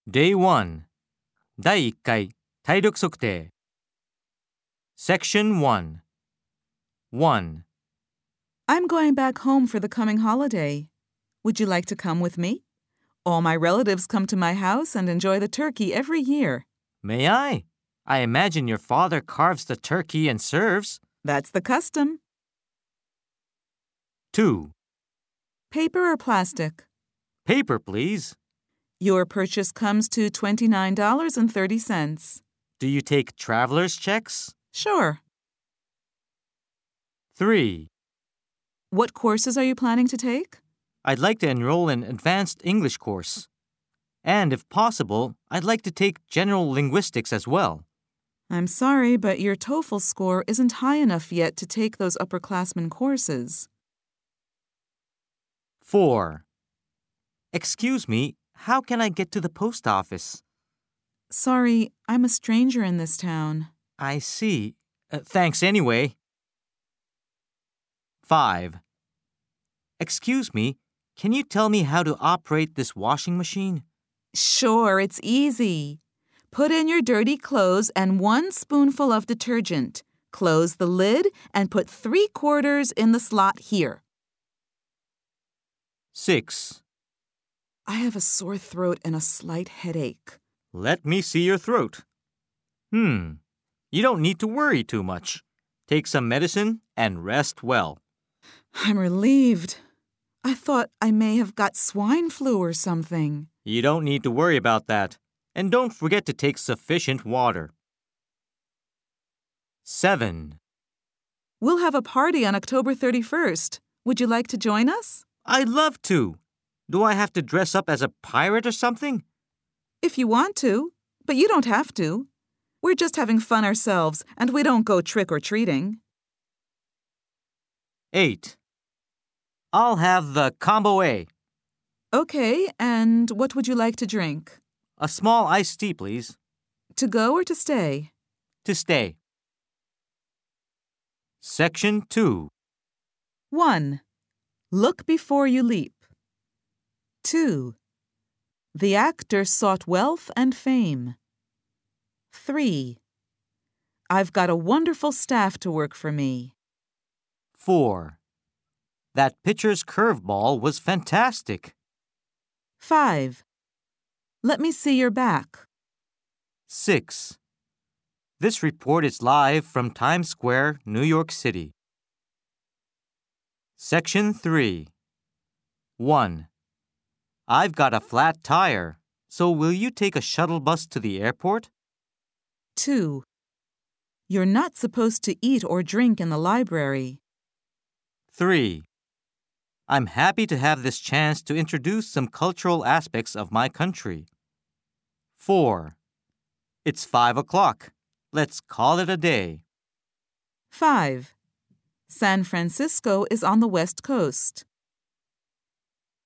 Day 1第1回体力測定 Section 1 1. I'm going back home for the coming holiday. Would you like to come with me? All my relatives come to my house and enjoy the turkey every year. May I? I imagine your father carves the turkey and serves. That's the custom. 2. Paper or plastic? Paper, please. Your purchase comes to $29.30. Do you take traveler's checks? Sure. 3. What courses are you planning to take? I'd like to enroll in advanced English course. And if possible, I'd like to take general linguistics as well. I'm sorry, but your TOEFL score isn't high enough yet to take those upperclassmen courses. 4. Excuse me, how can I get to the post office? Sorry, I'm a stranger in this town. I see. Thanks anyway. 5. Excuse me, can you tell me how to operate this washing machine? Sure, it's easy. Put in your dirty clothes and 1 spoonful of detergent. Close the lid and put 3/4 in the slot here. 6. I have a sore throat and a slight headache. Let me see your throat. You don't need to worry too much. Take some medicine and rest well. I'm relieved. I thought I may have got swine flu or something. You don't need to worry about that. And don't forget to take sufficient water. 7. We'll have a party on October 31st. Would you like to join us? I'd love to. Do I have to dress up as a pirate or something? If you want to, but you don't have to. We're just having fun ourselves, and we don't go trick-or-treating. 8. I'll have the combo A. Okay, and what would you like to drink? A small iced tea, please. To go or to stay? To stay. Section 2. 1. Look before you leap. 2. The actor sought wealth and fame. 3. I've got a wonderful staff to work for me. 4. That pitcher's curveball was fantastic. 5. Let me see your back. 6. This report is live from Times Square, New York City. Section 3. 1. I've got a flat tire, so will you take a shuttle bus to the airport? 2. You're not supposed to eat or drink in the library. 3. I'm happy to have this chance to introduce some cultural aspects of my country. 4. It's 5 o'clock. Let's call it a day. 5. San Francisco is on the West Coast.